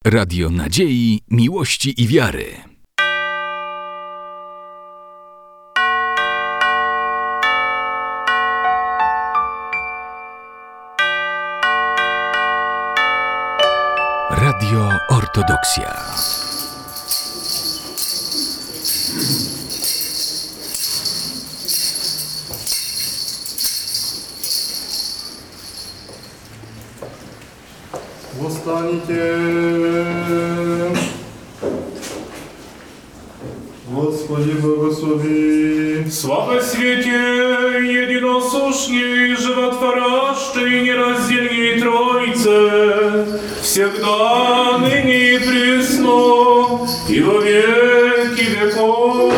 Radio nadziei, miłości i wiary. Radio Ortodoksja. Восстанете, Господи, благослови. Слава свете, единосущней, животворящей, нераздельней Троице, всегда, ныне и присно, и во веки веков.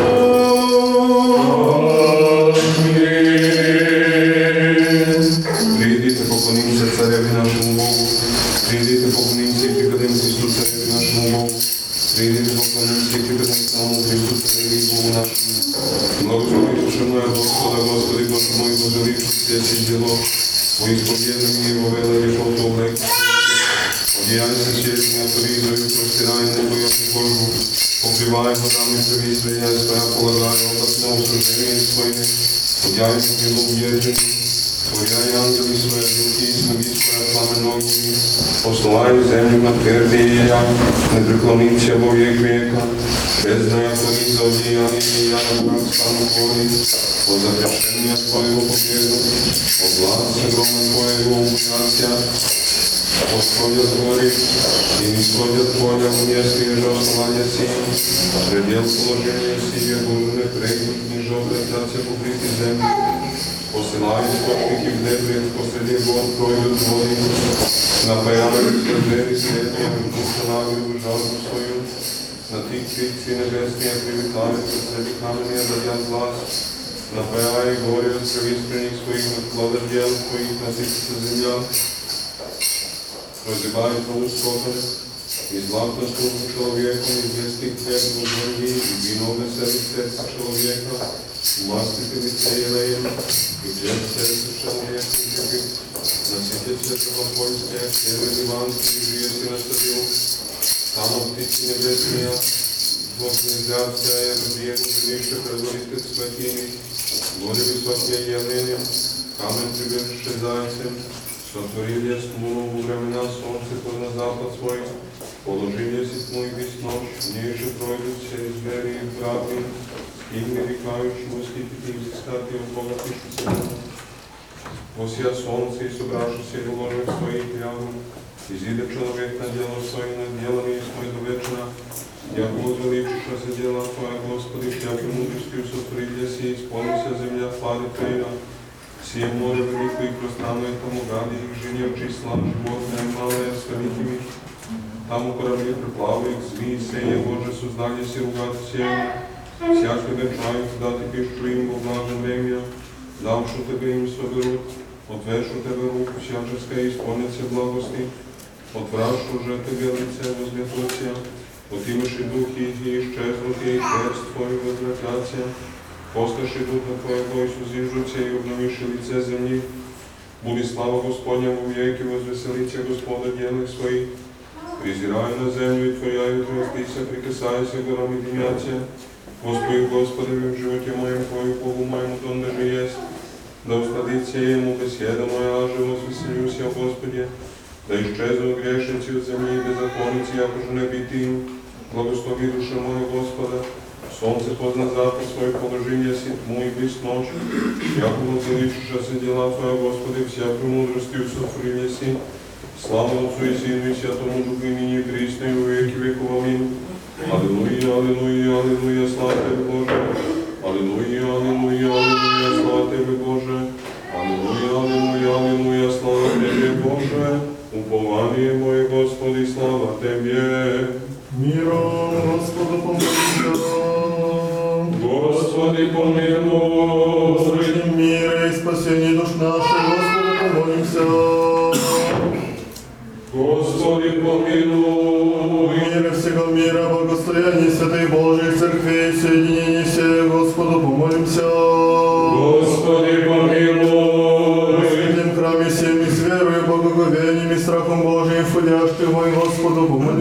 Придите, поклонимся Цареве нашему Богу. Придите, поклонимся и преподем Христу Цареве нашему Богу. Придите, поклонимся и преподем самому Христу Цареве Богу нашему. Благослови душа моя Господа, Господи, Боже мой, благослови все дело. Во исповедном Его вела веков облек. Одеяние честное, поризою, простирай небо, яку Божу. Покривай водами превисления своя, полагай, облакнул суждение своими. Одяй в него уверенным. Творяй ангели свои, духи и снови своя пламя огненными. Послай землю на твердия, не преклониться во век века. Бездная творит за одеяние, и я на враг стану твой. От запрещения твоего победу, от власти грома твоего ужасия. Восходят гори, и не сходят поля в месте и основания сил. Предел положения сие Божие прегнут, не жовтая трация покрыты земли. Посылай источники в дебри, посреди гор пройдут воды. Напоявали свердели светлые, установили жажду свою. На тих птицы небесные привлекают, среди каменей радят глаз. Напоявай горе от сравистрених своих, от плода дел своих, насытится земля. Разрывает уст скотом, и златно службу человеку, и близких хлеб в борьбе, и вино веселит сердце человека, и мастит и лице елеем, и хлеб сердце человека, и кипит, насытит сердце спокойствия, первый ливанский, и жие си насадил, там от птицы небесные, вознезрятся, и разбегу живейше предварит святыми, горе высокие явлением, камень прибежище зайцем, сотворили смуну во времена солнце на запад свой, положили си тьму и весь ночь, ниже пройдут через двери и враты, им нарекающие восхитить и взыскать и обогатившись. Восия солнце и собравшись в ложах своих явно, изиде человек на дело свое, на делами свое до вечера, яко возвеличившееся дела Твоя, Господи, всякой мудростью сотворили си, исполнися земля твари Твоя. Сие море велико и пространно тому ради их жене числа, животное малое с великими. Там корабли приплавают, змеи сея, Боже, создали си ругат всем. Всякий вечай, когда Ты пищу им во влажное время, давшу Тебе им соберут, отвешу Тебе руку всяческое, исполнится благости, отврашу же Тебе лице возметутся, отимеши духи и исчезнут, и перст Твой возвратятся. Посташи Духа Твоего и сузижутся, и обновиши лице земли. Буди слава Господня во веки, возвеселится Господа делах своих. Презирай на землю и Твоя, и трястися, прикасайся, горам и дымятся. Господи, Господи, в животе моем Твою, Богу моему, донde же есть. Да устадится Ему беседа моя, аже возвеселюся, Господи. Да исчезнут грешницы от земли, беззаконницы, яко же не бити им. Благослови душа моя Господа. Солнце позна запад свой, положение си тьму и без ночь. Яко возвеличившееся дела Твоя, Господи, всякой мудростью сотворили си. Слава Отцу и Сыну и Святому Духу, и ныне и присно, и во веки веков. Аминь. Аллилуйя, аллилуйя, аллилуйя, слава Тебе, Боже. Аллилуйя, аллилуйя, аллилуйя, слава Тебе, Боже. Аллилуйя, аллилуйя, аллилуйя, слава Тебе, Боже. Упование мое, Господи, слава Тебе. Миром, Господу помолимся. Господи, помилуй. Среднем мире и спасении душ наших, Господу помолимся. Господи, помилуй. Мира всего мира, благостояние Святой Божией Церкви, соединение всех, Господу помолимся. Господи, помилуй. В святом храме всеми с верою, благоговением и страхом Божиим, входящих мой, Господу помолимся.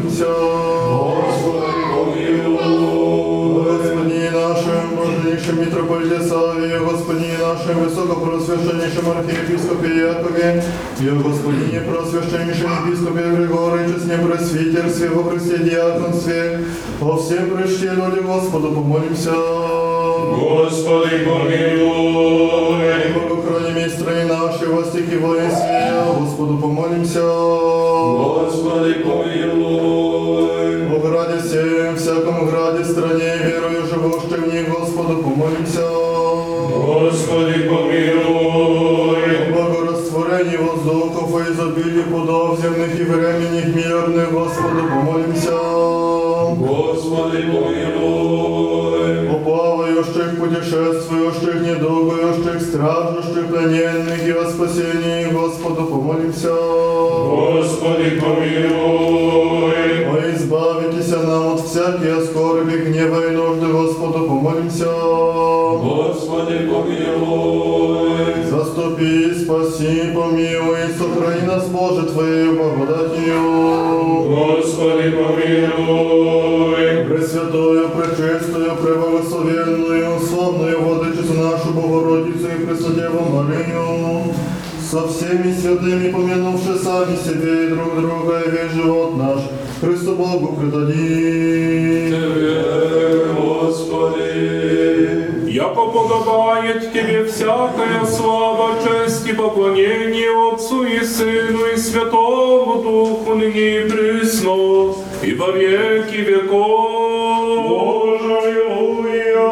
помолимся. Господи, помилуй. Господи нашим, блаженнейшим митрополите Савве, Господи нашим, высокопросвященнейшем архиепископе Якове, и Господи просвященнейшем епископе Григории, честне пресвитерстве, во Христе диаконстве, о всем прежде люди Господу помолимся. Господи, помилуй. Богохрани мистры наши, во стихи воинстве, Господу помолимся. Господи, помилуй. О граде всем, всяком граде, стране, верую, живущих в них, Господу помолимся. Господи, помилуй. О благорастворении воздухов и изобилии плодов земных и временных мирных, Господу помолимся. Господи, помилуй. О плавающих, путешествующих, недугающих, страждущих, плененных и о спасении, Господу помолимся. Господи, помилуй. О избавитесь нам от всяких скорби, гнева и нужды, Господу помолимся. Господи, помилуй. Заступи, спаси, помилуй, сохрани нас, Боже, Твоею благодатью. Господи, помилуй. Пресвятую, пречистую, преблагословенную, славную Владычицу нашу Богородицу и Преснодеву Марию, со всеми святыми, помянувши сами себе и друг друга, и весь живот наш Христу Богу предадим. Тебе, Господи. Яко подобает Тебе всякая слава, честь и поклонение Отцу и Сыну и Святому Духу, ныне и присно, и во веки веков. Аллилуйя.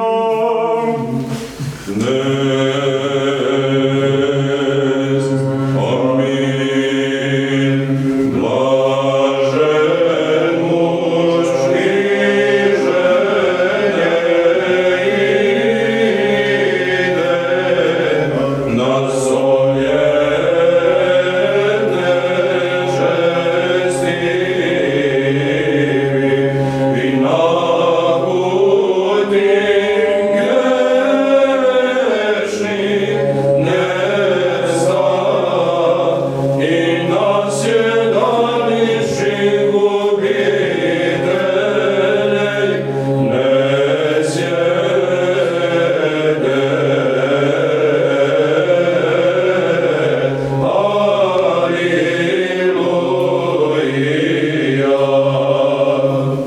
Аминь. Блажен муж, иже не иде на совете честивый, и на пути грешный не встал, и на седалище губителей не сядет. Аллилуйя.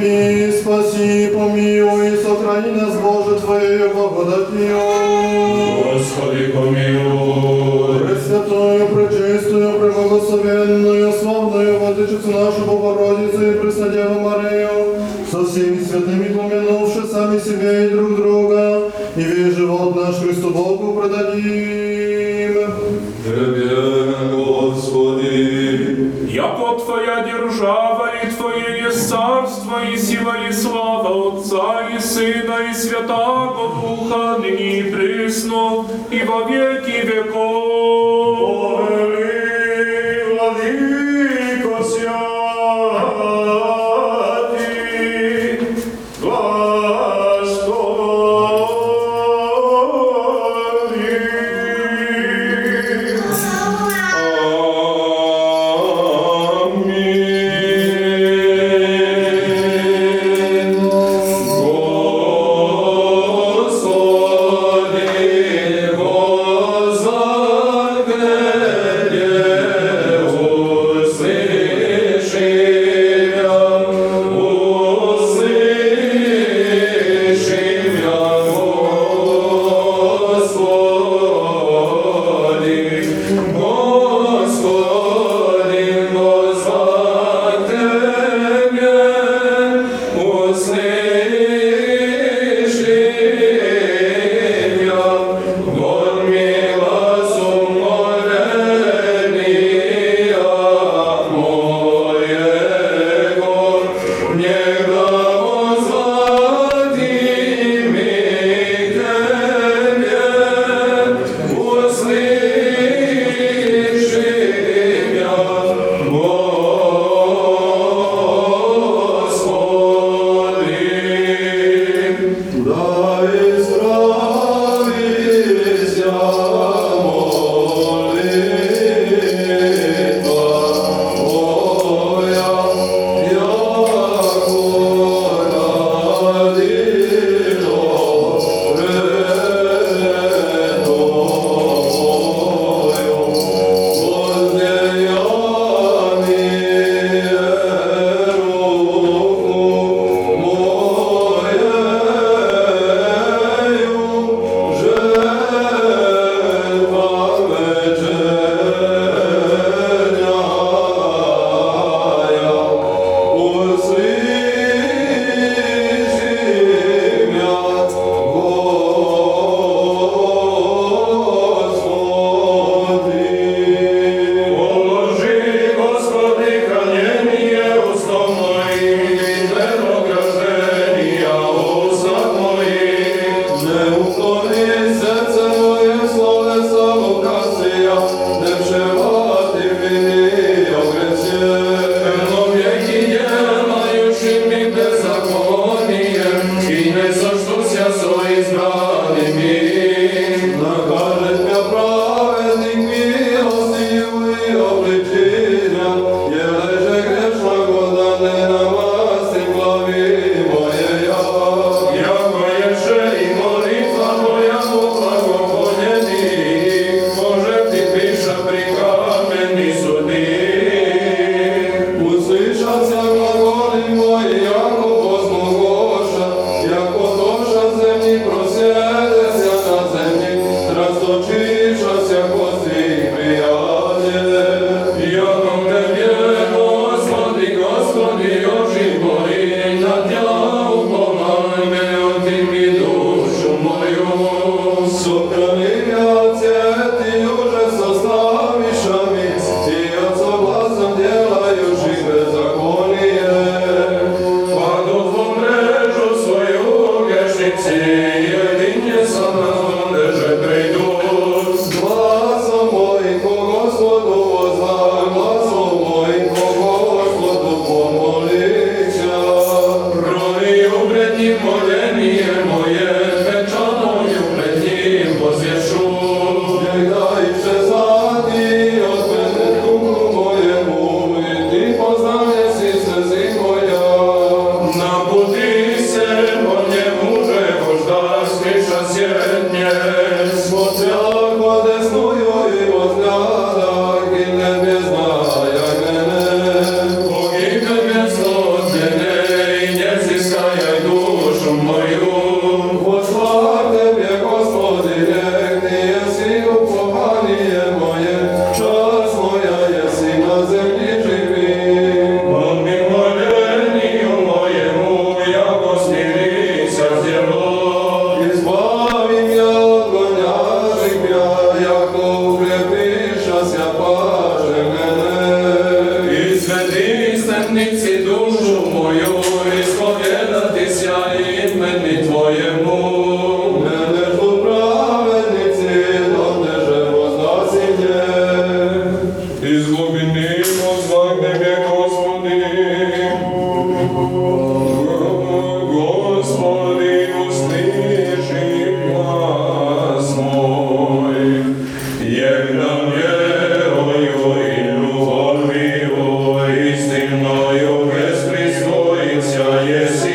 Укрепи, спаси, помилуй, сохрани нас, Боже, Твоею благодатью. Господи, помилуй. Пресвятую, пречистую, преблагословенную, славную Владычицу нашу Богородицу и Преснодеву Марию, со всеми святыми помянувши сами себя и друг друга, и весь живот наш Христу Богу предадим. Тебе, Господи. Яко Твоя держава и Твое есть царство, и сила, и слава Отца, и Сына, и Святаго Духа, ныне и присно, и во веки веков. Владыко святый, благослови. Аминь. Господи, Господи,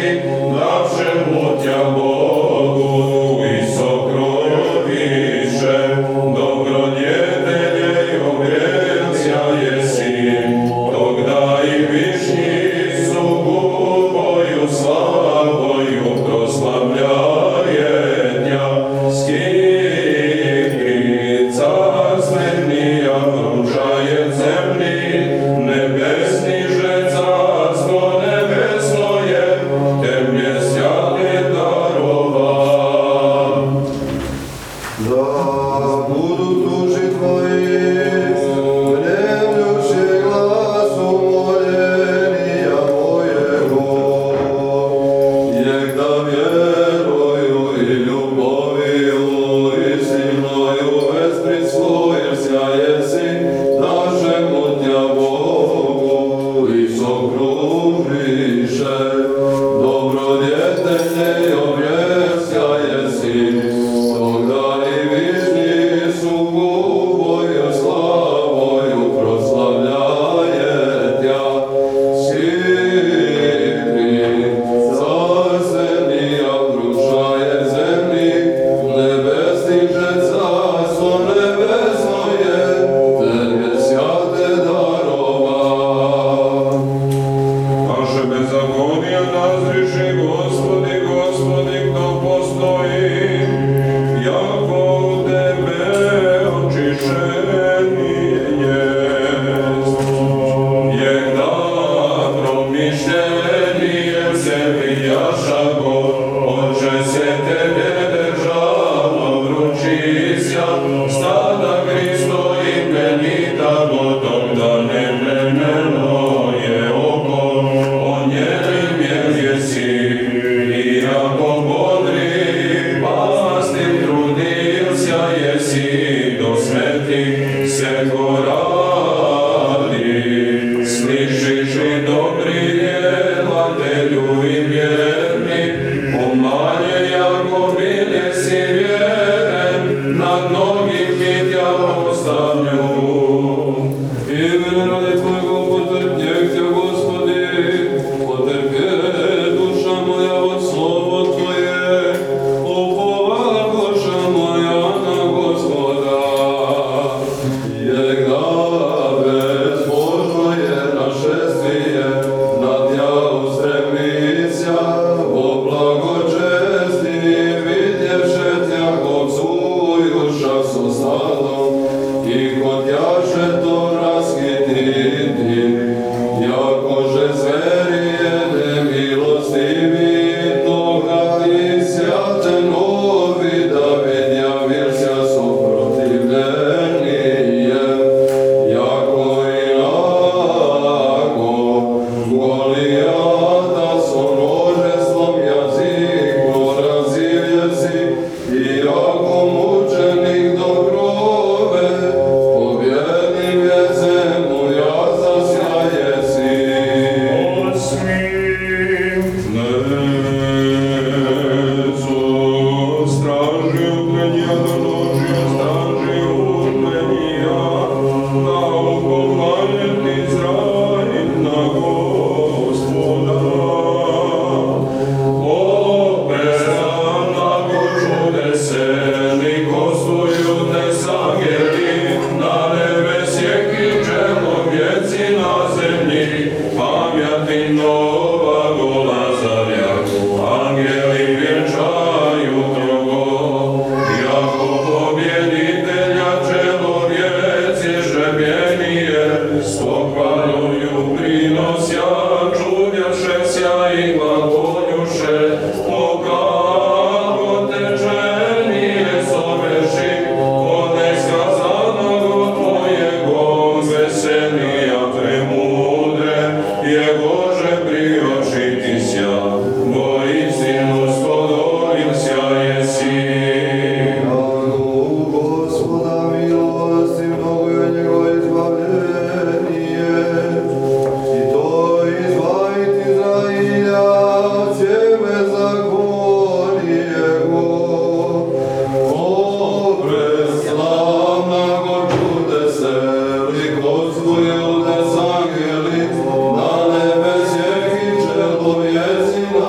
Nova Gola Zavia,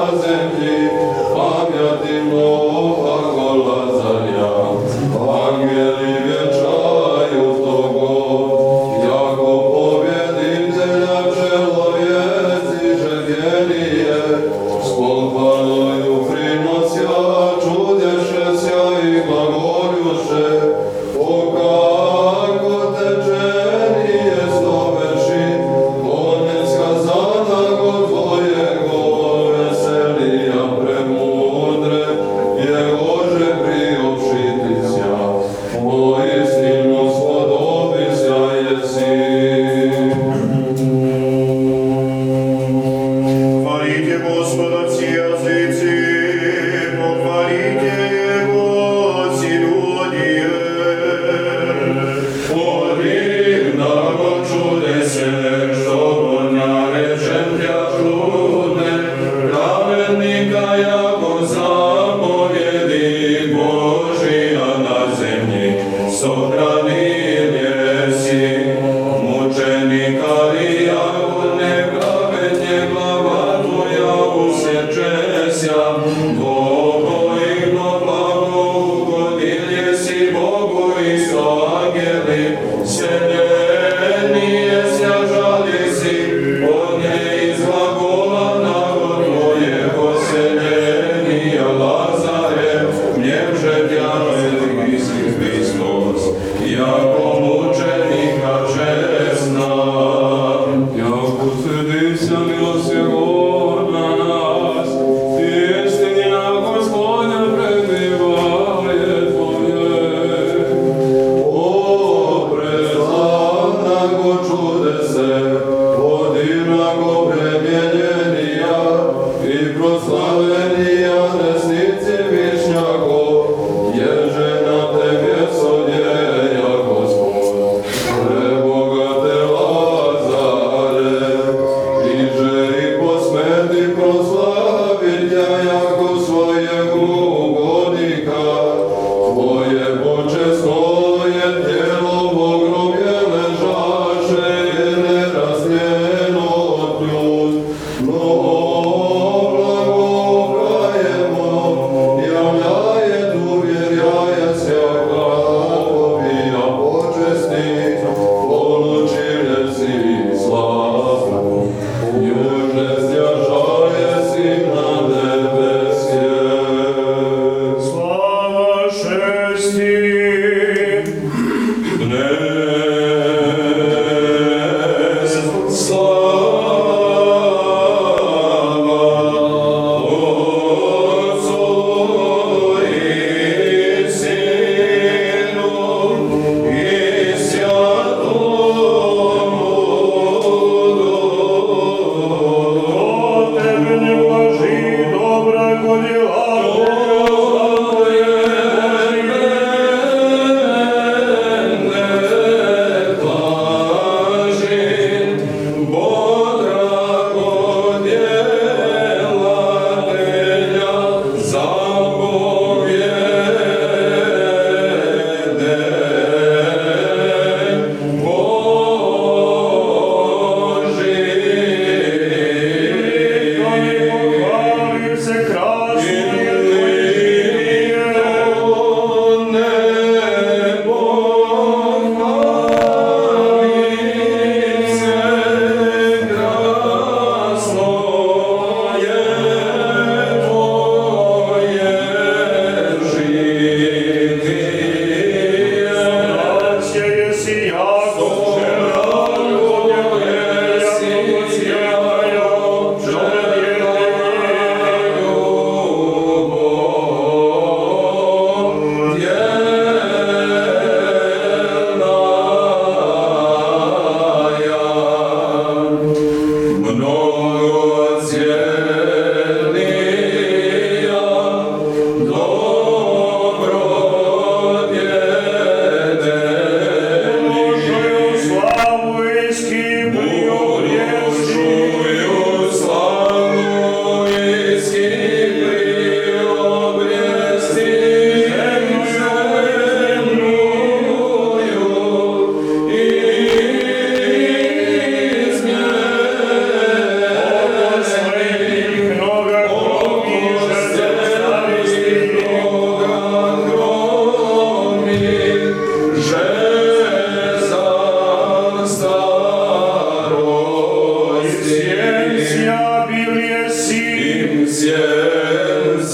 Благо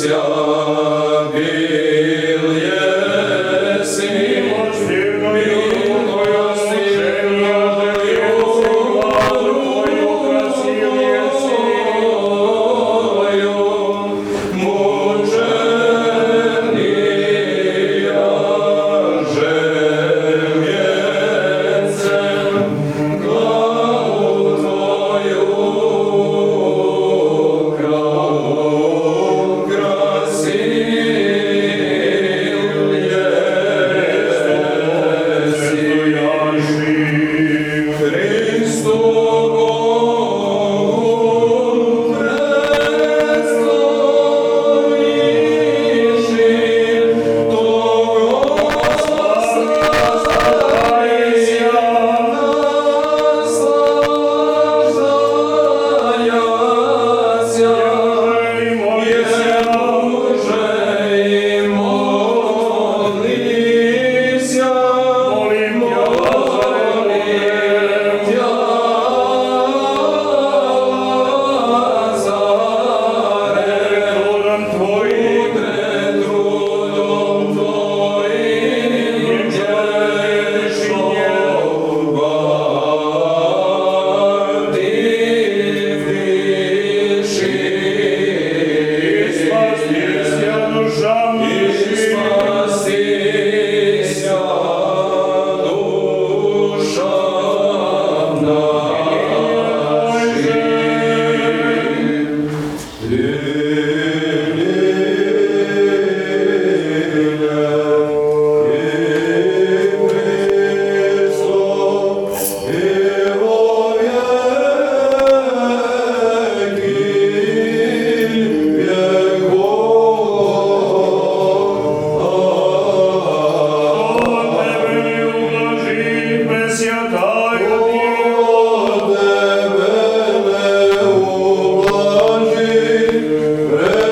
Святая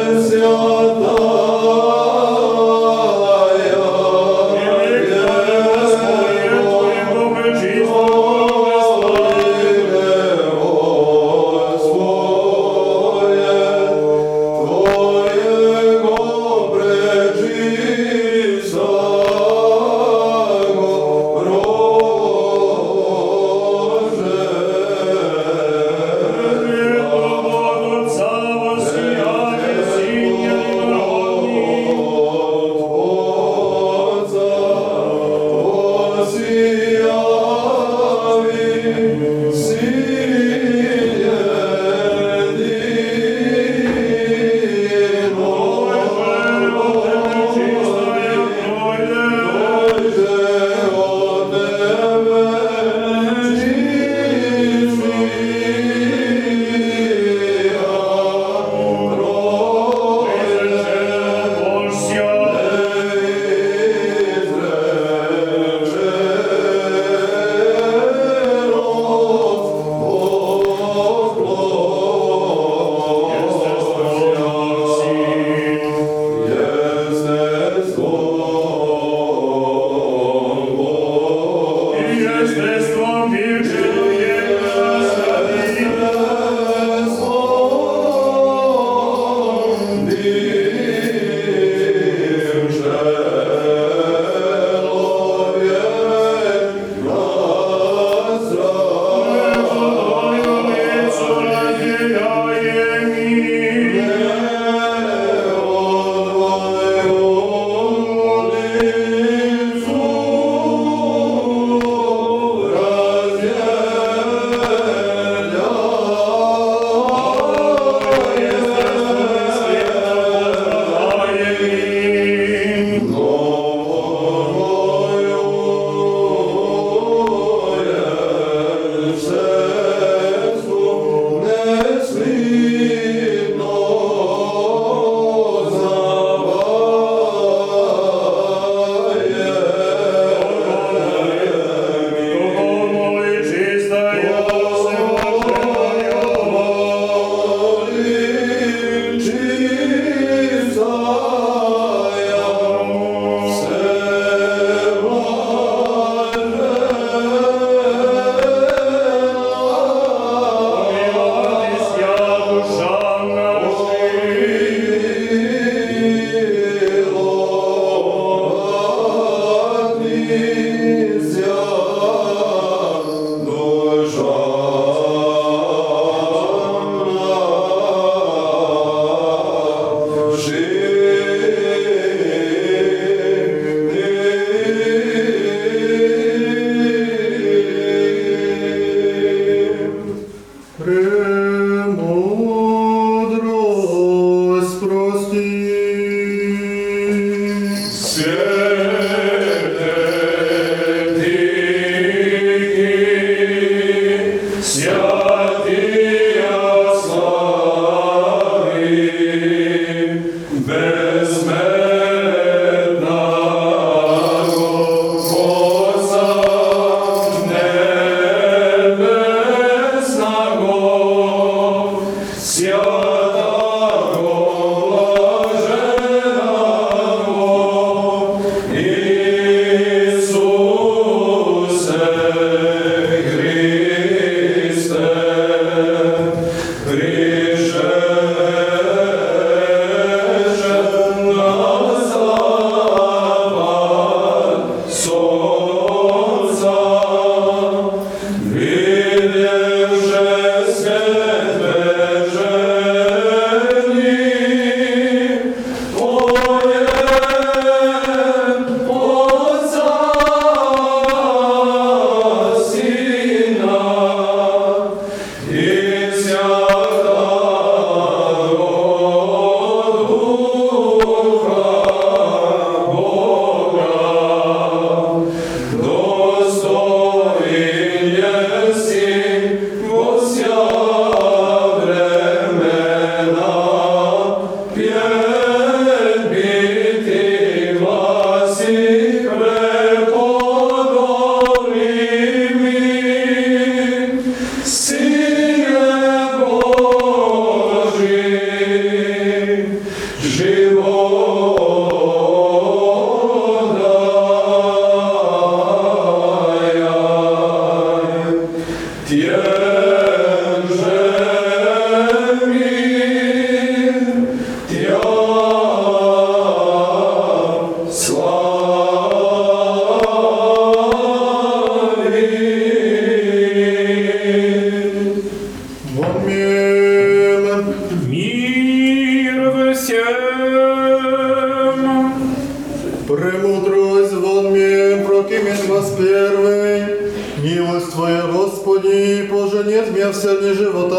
Премудрость вон мне, прокимен вас первый. Милость Твоя, Господи, поженет меня в сердце живота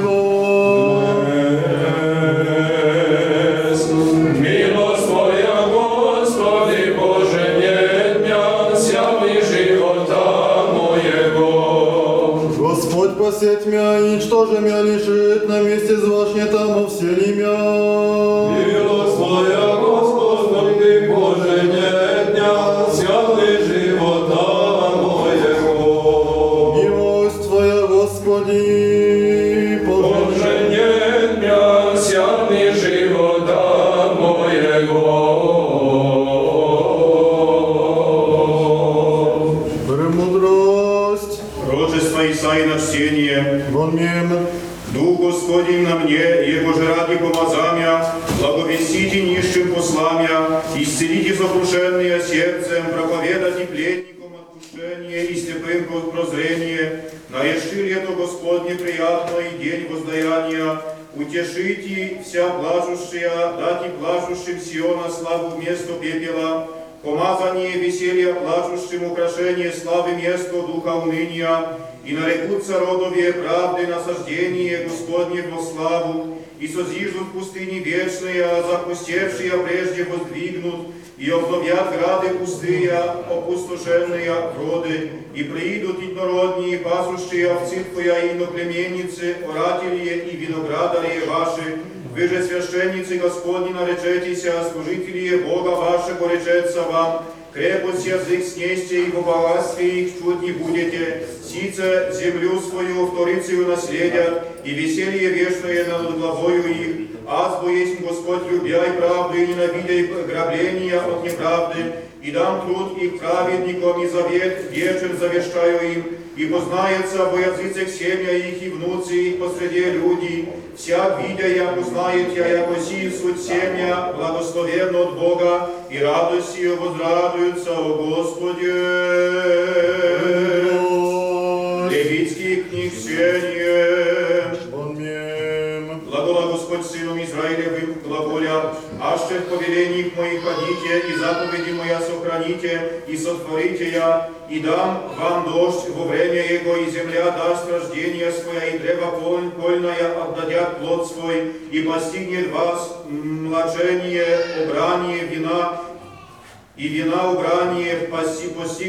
моего. Милость Твоя, Господи, поженет меня в сердце живота моего. Господь посеть меня, и ничто же меня лишит, на месте звашне тому всели меня. Милость Твоя, Господи, поженет меня в сердце живота моего. Милость Твоя, Господи, Поженет меня в сердце живота моего. премудрость Пророчество Исаии на чтение. вон мне. Дух Господень на мне, Его же ради помазания, благовестите нищим посламя, исцелите сокрушенные сердцем, проповедайте плетникам отпущение и слепым прозрение, наеши лето Господне приятно и день воздаяния, утешите вся плачущая, дайте плачущим Сиона славу вместо пепела, помазание веселья плачущим, украшение славы место духа уныния, и нарекутся родовье правды насаждение Господне во славу, и созиждут пустыни вечные, а запустевшие прежде воздвигнут, и обновят грады пустые, опустошенные роды, и приидут еднородние, пасущие овцы Твоя и иноплеменницы, оратели и виноградари ваши, вы же священницы Господни наречетеся, служители Бога вашего речется вам, крепость язык снесьте, и в богатстве их чуть не будете, сице землю свою вторицею наследят, и веселье вечное над главою их, аз есть Господь, любя и правду, и ненавидя и грабления от неправды, и дам труд их праведникам, и завет вечен завещаю им, и познается во языцах семя их, и внуцы их посреди людей, всяк видя, я узнает я, яко си суть семя, благословенно от Бога, и радостью возрадуются о Господе. Левитских книг чтение. Вон мне. Глагола Господь сыном Израилевым, глаголя аще в повелениях моих ходите, и заповеди моя сохраните, и сотворите я, и дам вам дождь во время его, и земля даст рождение свое, и древо польное отдадят плод свой, и постигнет вас млачение, убрание вина, и вина убрание постигнет